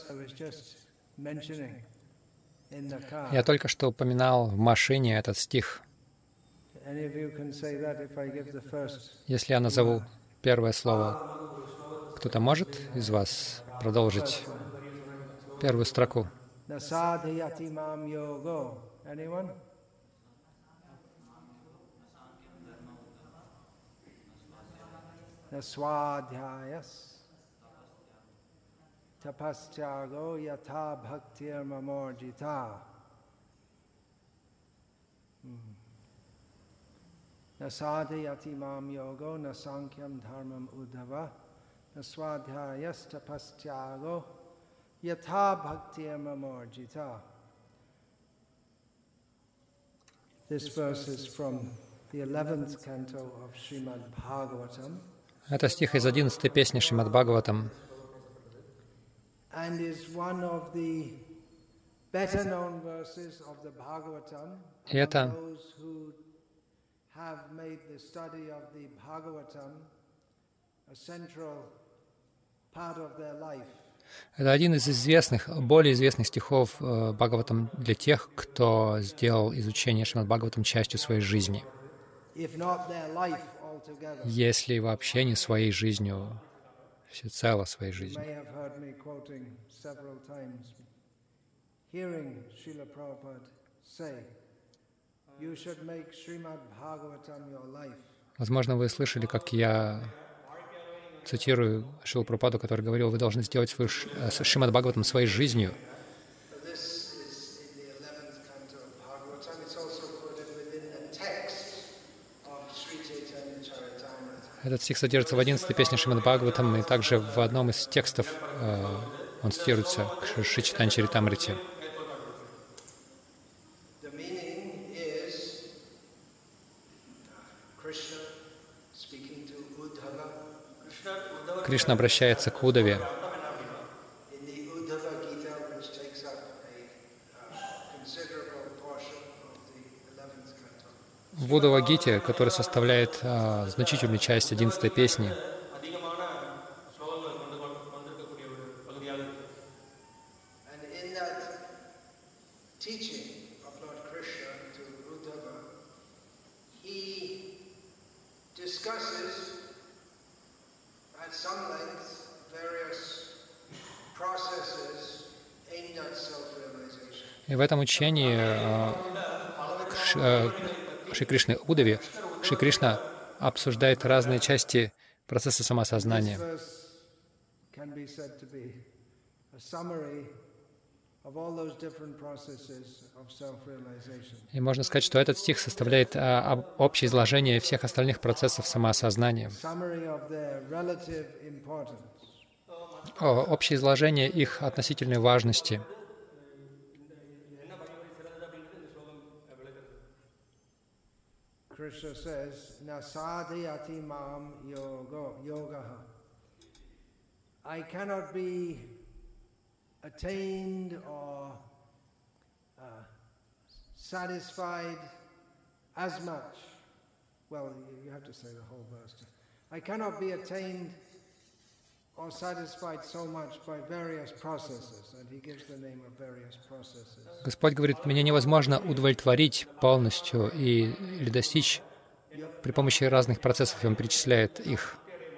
Я только что упоминал в машине этот стих. Если я назову первое слово, кто-то может из вас продолжить первую строку? Naswadhyayas tapastyāgo yatha bhaktir mamorjita. Nasadhyati mam yogo nasankyam dharmam uddhava. Naswadhyayas tapastyāgo yatha bhaktir mamorjita. This verse is from the 11th canto of Srimad Bhagavatam. Это стих из 11-й песни Шримад Бхагаватам. И это один из известных, более известных стихов Бхагаватам для тех, кто сделал изучение Шримад Бхагаватам частью своей жизни. Если вообще не своей жизнью, всецело своей жизнью. Возможно, вы слышали, как я цитирую Шрилу Прабхупаду, который говорил, вы должны сделать свою Шримад Бхагаватам своей жизнью. Этот стих содержится в 11-й песне Шримад Бхагаватам, и также в одном из текстов он цитируется к Шри Чайтанья Чаритамрите. Кришна обращается к Уддаве. В Уддава-гите, который составляет значительную часть 11-й песни, и в этом учении Шри Кришны Уддаве, Шри Кришна обсуждает разные части процесса самосознания. И можно сказать, что этот стих составляет общее изложение всех остальных процессов самоосознания. Общее изложение их относительной важности. Krishna says, Nasadhyati mam yogaha. I cannot be attained or satisfied as much. Well, you have to say the whole verse. I cannot be attained or satisfied so much by various processes. And he gives the name of various processes. Господь говорит, меня невозможно удовлетворить полностью или достичь при помощи разных процессов, и Он перечисляет их.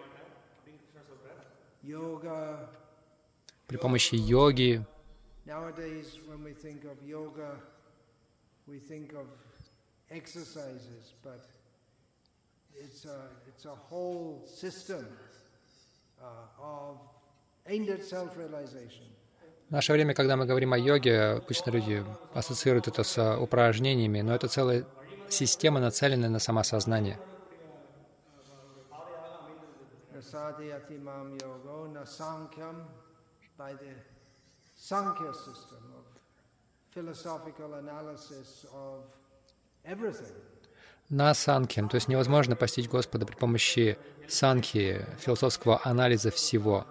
При помощи йоги. Nowadays, when we think of yoga, we think of exercises, but it's a whole system of aimed at self-realization. В наше время, когда мы говорим о йоге, обычно люди ассоциируют это с упражнениями, но это целая система, нацеленная на самосознание. На санкхьям, то есть невозможно постичь Господа при помощи санкхи, философского анализа всего.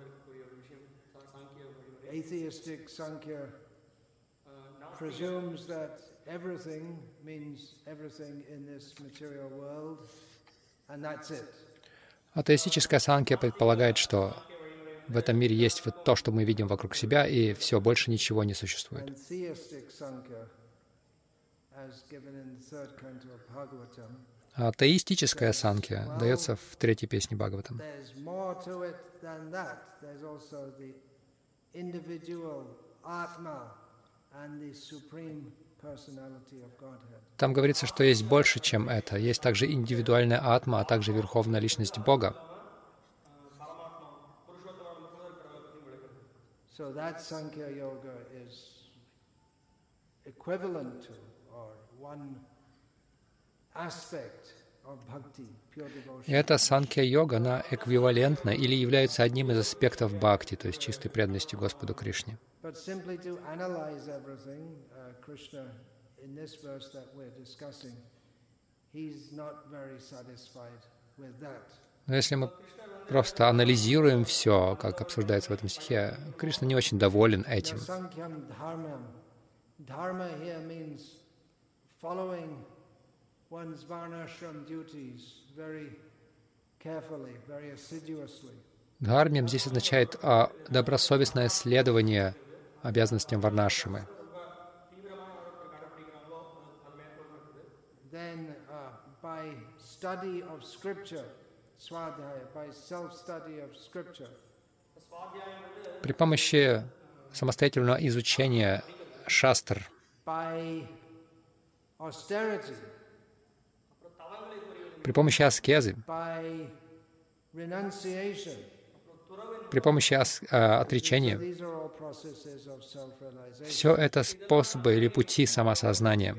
Atheistic Sankhya presumes that everything means everything in this material world, and that's it. Атеистическая санкхья предполагает, что в этом мире есть вот то, что мы видим вокруг себя, и все, больше ничего не существует. And theistic Sankhya, as given in the third canto of Bhagavatam, А атеистическая санкья дается в третьей песне Бхагаватам. there's more to it than that. There's also the individual Atma and the supreme personality of Godhead. Там говорится, что есть больше, чем это. Есть также индивидуальная атма, а также верховная личность Бога. So that Sankhya Yoga is equivalent to, or one aspect of bhakti, pure devotion. И эта санкья-йога, она эквивалентна или является одним из аспектов бхакти, то есть чистой преданности Господу Кришне. But simply to analyze everything, Krishna, in this verse that we're discussing, he's not very satisfied with that. Но если мы просто анализируем все, как обсуждается в этом стихе, Кришна не очень доволен этим. Sankhyaṃ dharmam. Dharma here means following one's varnashram duties very carefully, very assiduously. Дхармям здесь означает добросовестное следование обязанностям варнашрамы. Then by study of scripture, swadhyaya, by self-study of scripture, При помощи самостоятельного изучения шастр, by austerity, при помощи аскезы, by renunciation. при помощи отречения, These are all processes of self-realization. все это способы или пути самосознания.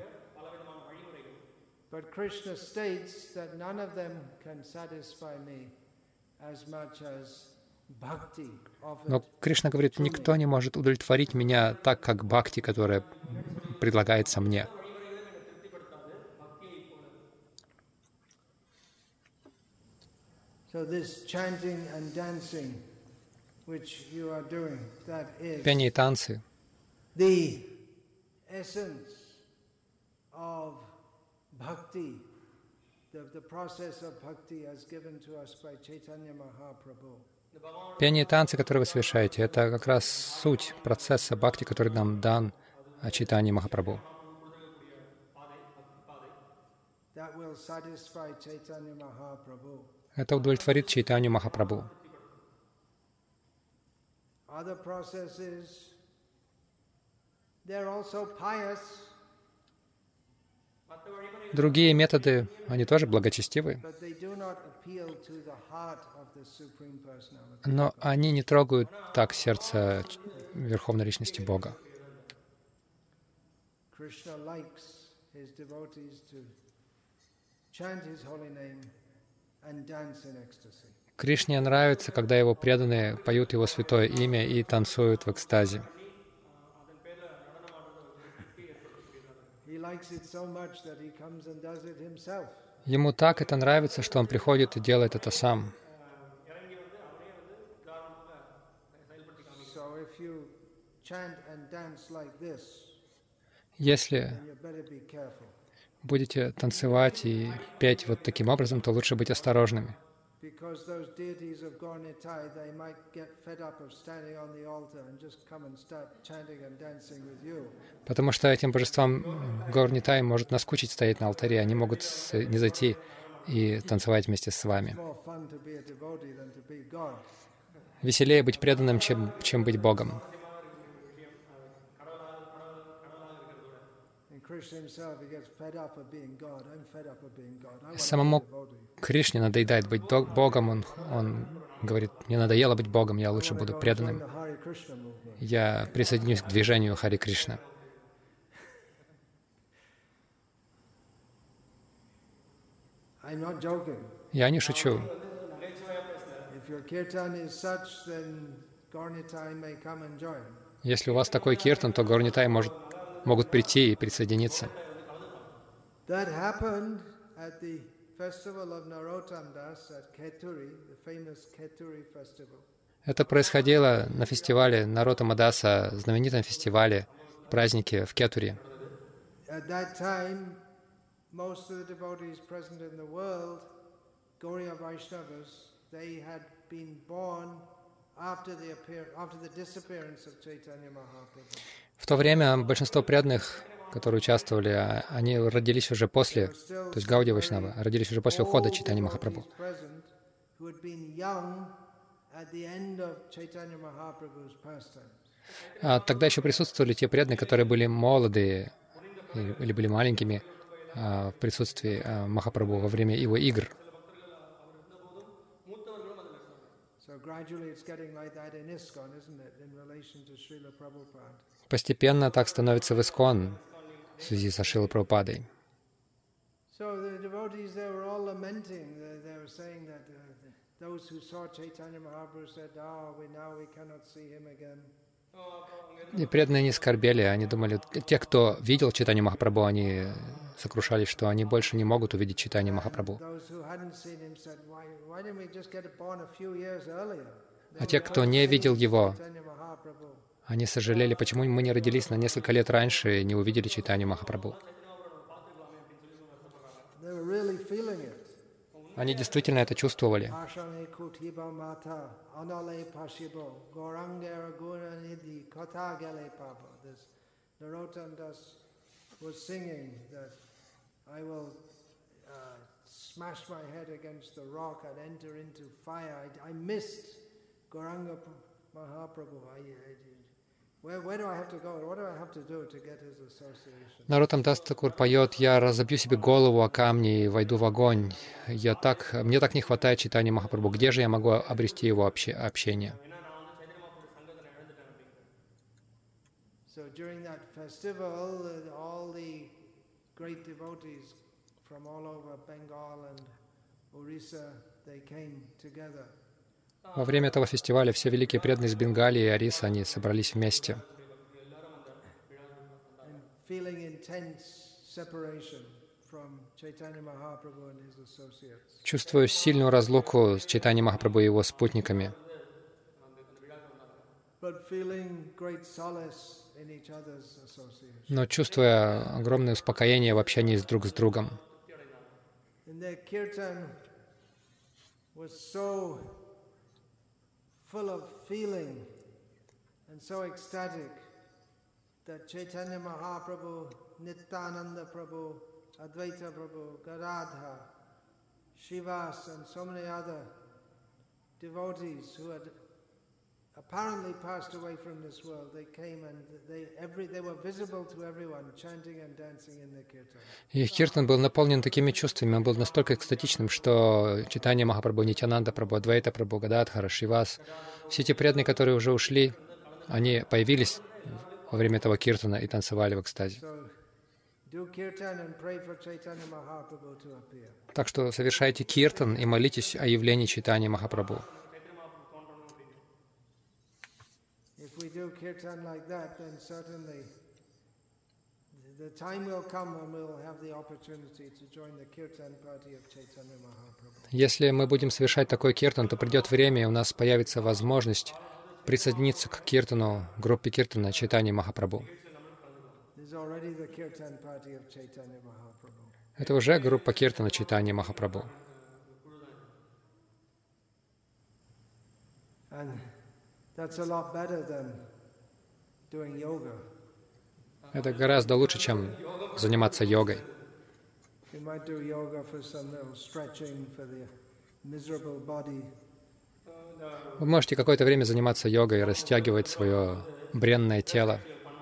But Krishna states that none of them can satisfy me as much as bhakti Но offered. Кришна говорит, никто не может удовлетворить меня так, как бхакти, которая предлагается мне. So this chanting and dancing which you are doing, that is Пение и танцы the essence of bhakti, the process of bhakti as given to us by Chaitanya Mahaprabhu. Пение и танцы, которые вы совершаете, это как раз суть процесса бхакти, который нам дан Чайтанья Махапрабху. That will satisfy Chaitanya Mahaprabhu. Это удовлетворит Чайтанью Махапрабху. Other processes, they're also pious, Другие методы, они тоже благочестивы, but they do not appeal to the heart of the Supreme Personality. но они не трогают так сердце Верховной Личности Бога. Krishna likes his devotees to chant his holy name and dance in ecstasy. Кришне нравится, когда его преданные поют его святое имя и танцуют в экстазе. He likes it so much that he comes and does it himself. Ему так это нравится, что он приходит и делает это сам. So if you chant and dance like this, Если then you better be careful, будете танцевать и петь вот таким образом, то лучше быть осторожными. because those deities of Gaur-Nitai, they might get fed up of standing on the altar and just come and start chanting and dancing with you. Потому что этим божествам Гаур-Нитай может наскучить стоять на алтаре, они могут не зайти и танцевать вместе с вами. More fun to be a devotee than to be God. Веселее быть преданным, чем быть Богом. And Krishna himself, he gets fed up of being God. I'm fed up of being God. I want to be a Самому devotee. Кришне надоедает быть Богом, он говорит, мне надоело быть Богом, я лучше буду Join преданным. the Hare Krishna movement. Я присоединюсь к движению Хари Кришна. I'm not joking. Я не шучу. If your kirtan is such, then Gaur-Nitai may come and join. Если у вас такой киртан, то Гаур-Нитай могут прийти и присоединиться. That happened at the festival of Narottam Das at Keturi, the famous Keturi festival. Это происходило на фестивале Нароттама Даса, знаменитом фестивале, празднике в Кетуре. At that time, most of the devotees present in the world, Gauriya Vaishnavas, they had been born В то время большинство преданных, которые участвовали, они родились уже после, то есть Гаудия Вайшнава, родились уже после ухода Чайтаньи Махапрабху. А тогда еще присутствовали те преданные, которые были молодые или были маленькими в присутствии Махапрабху во время его игр. Постепенно так становится в Искон в связи со Шрилой Прабхупадой. И преданные не скорбели, они думали, те, кто видел Чайтанью Махапрабху, они сокрушались, что они больше не могут увидеть Чайтанью Махапрабху. А те, кто не видел его, они сожалели, почему мы не родились на несколько лет раньше и не увидели Чайтанью Махапрабху. Они действительно это чувствовали. Нароттам Дас Такур поет: «Я разобью себе голову о камни и войду в огонь. Мне так не хватает Чайтаньи Махапрабху. Где же я могу обрести его общение?» Во время этого фестиваля все великие преданные из Бенгалии и Орисы, они собрались вместе. Чувствую сильную разлуку с Чайтаньей Махапрабху и его спутниками, но чувствуя огромное успокоение в общении друг с другом. Full of feeling and so ecstatic that Chaitanya Mahaprabhu, Nityananda Prabhu, Advaita Prabhu, Gadadhar, Shivas and so many other devotees who had apparently passed away from this world, they came and they were visible to everyone, chanting and dancing in the kirtan. И их киртан был наполнен такими чувствами, он был настолько экстатичным, что Чайтанья Махапрабху, Нитьянанда Прабху, Адвайта Прабху, Гададхара, Шривас, все те преданные, которые уже ушли, они появились во время этого киртана и танцевали в экстазе. Так что совершайте киртан и молитесь о явлении Чайтаньи Махапрабху. If we do kirtan like that, then certainly the time will come when we will have the opportunity to join the kirtan party of Chaitanya Mahaprabhu. Если мы будем совершать такой киртан, то придет время, и у нас появится возможность присоединиться к киртану, группе киртана Чайтаньи Махапрабху. Это уже группа киртана Чайтаньи Махапрабху. Это гораздо лучше, чем заниматься йогой. Вы можете какое-то время заниматься йогой, растягивать свое бренное тело.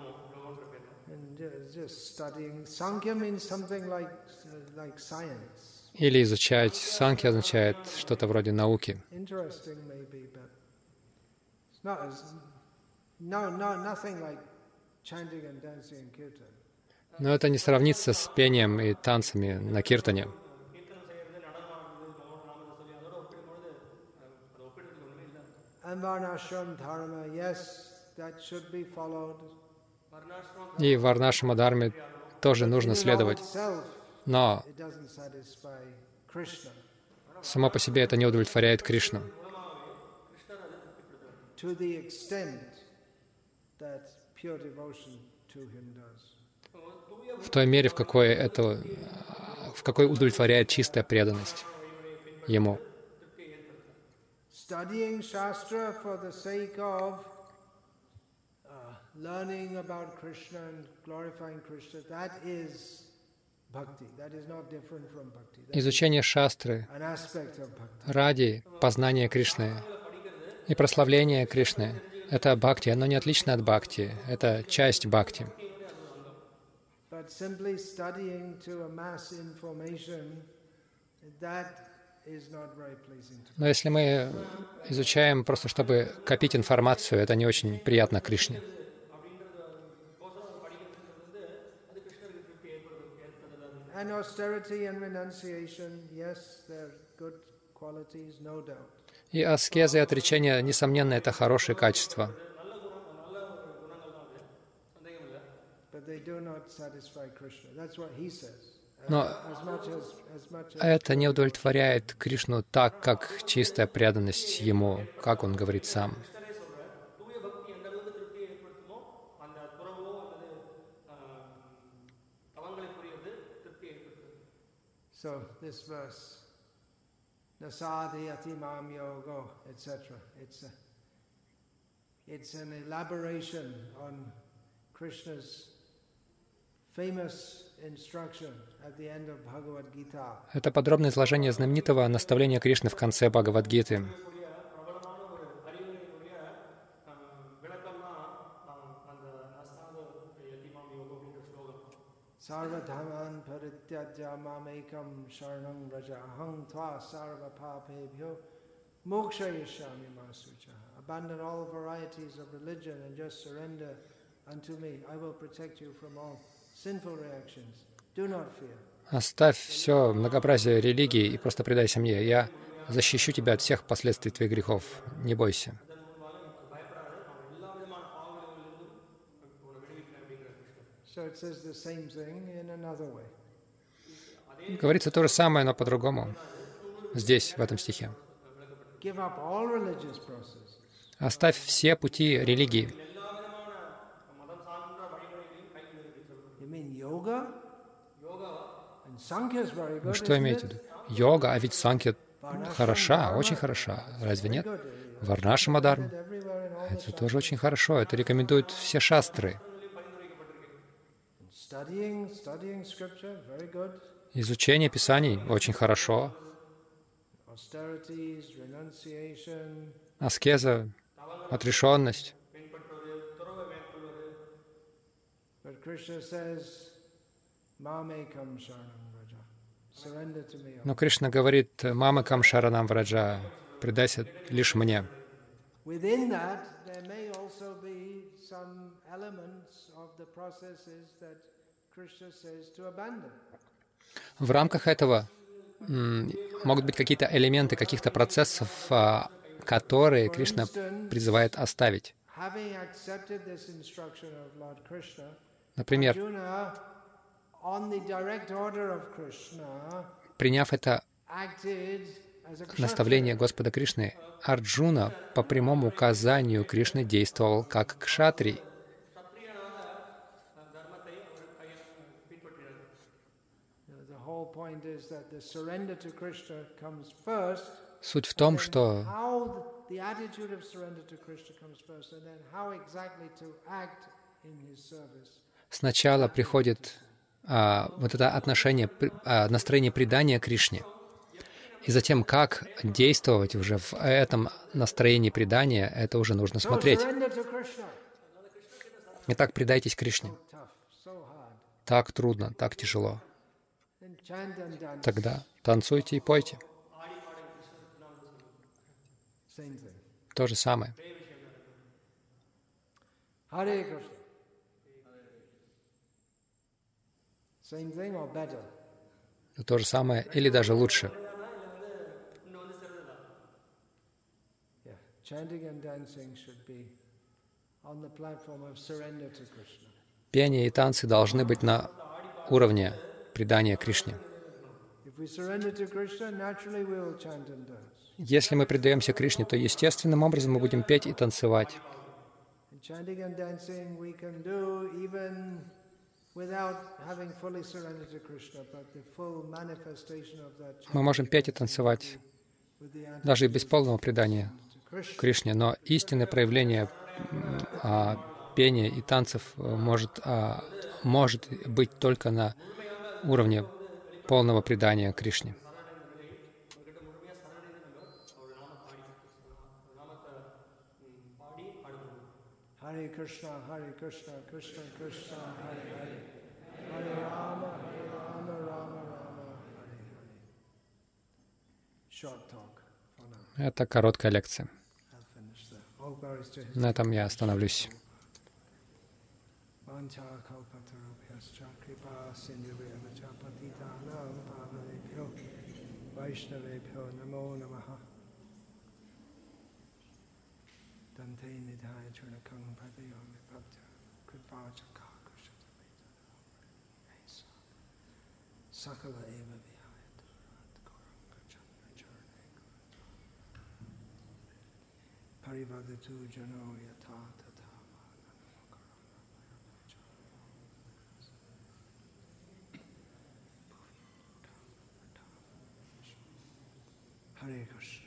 Или изучать. Санкья означает что-то вроде науки. Но это не сравнится с пением и танцами на киртане. И варнашрама дхарме тоже нужно следовать. Но само по себе это не удовлетворяет Кришну. В той мере, в какой удовлетворяет чистая преданность Ему. studying Shastra for the sake of learning about Krishna and glorifying Krishna, that is bhakti. That is not different from bhakti. Изучение шастры An aspect of bhakti. ради познания Кришны и прославления Кришны — это бхакти, оно не отлично от бхакти, это часть бхакти. But simply studying to amass information, that is not very pleasing to me. Но если мы изучаем просто, чтобы копить информацию, это не очень приятно Кришне. And austerity and renunciation, yes, they're good qualities, no doubt. И аскеза и отречение, несомненно, это хорошие качества. But they do not satisfy Krishna. That's what he says. Но As much as это не удовлетворяет Кришну так, как чистая преданность Ему, как Он говорит сам. So this verse, Nasadhyati mam yogo, etc. It's an elaboration on Krishna's famous instruction at the end of Bhagavad Gita. Это подробное изложение знаменитого наставления Кришны в конце Бхагавад-гиты. Sarvadhaman parityajya mamekam sharanam vraja aham tva sarva papebhyo mokshayashyami masucha. Abandon all varieties of religion and just surrender unto me. I will protect you from all sinful reactions. Do not fear. Оставь все многообразие религии и просто предайся мне. Я защищу тебя от всех последствий твоих грехов. Не бойся. So it says the same thing in another way. Говорится то же самое, но по-другому. Здесь, в этом стихе. Give up all religious processes. Оставь все пути религии. You mean yoga? And Sankhya is very good. Что Isn't имеете в it? виду? Йога, а ведь санкья хороша, очень хороша. Разве нет? Варнаша Мадарм. Everywhere in all Это тоже очень хорошо. Это рекомендуют все шастры. studying scripture, very good. Изучение Писаний очень хорошо. Austerities, renunciation. Аскеза, отрешенность. But Krishna says, Mamekam Sharanam Vraja. Surrender to me. Но Кришна говорит, «Мамакам шаранам враджа», «Предайся лишь мне». Within that, there may also be some elements of the processes that Krishna says to abandon. В рамках этого могут быть какие-то элементы каких-то процессов, которые Кришна призывает оставить. Having accepted this instruction of Lord Krishna, Например, Arjuna, on the direct order of Krishna, приняв это acted as a наставление kshatriya. Господа Кришны, Арджуна по прямому указанию Кришны действовал как кшатрий. The whole point is that the surrender to Krishna comes first. Суть в том, что How the attitude of surrender to Krishna comes first, and then how exactly to act in his service. сначала приходит вот это отношение, настроение предания Кришне. И затем, как действовать уже в этом настроении предания, это уже нужно So смотреть. surrender to Krishna. Итак, предайтесь Кришне. Tough, so hard. Так трудно, так тяжело. Then chant and dance. Тогда танцуйте и пойте. Same thing. То же самое. Hare Krishna. Same thing or better? То же самое или даже лучше. Yeah. Chanting and dancing should be on the platform of surrender to Krishna. Пение и танцы должны быть на уровне предания Кришне. If we surrender to Krishna, naturally we will chant and dance. Если мы предаемся Кришне, то естественным образом мы будем петь и танцевать. And chanting and dancing we can do even without having fully surrendered to Krishna, but the full manifestation of that Мы можем chanting петь и and dancing танцевать даже и без полного предания Кришне, но истинное проявление пения и танцев может быть только на уровне полного предания Кришне. Hare Krishna, Krishna Krishna, Hare Hare, Hare Rama, Rama Rama, Hare Hare. Short talk for now. Это короткая лекция. I'll finish there. All glories to His На этом я остановлюсь. Dante Nidhaya Churnakam Padayomi Bhakta Kridvachaka Kushata Sakala Eva Vihaya Turat Goranga Chandra Charne Parivadatu Jano Yata Tata Hare Krishna.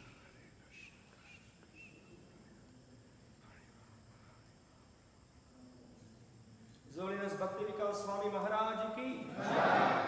His Holiness Bhakti Vikas Swami Maharaj ki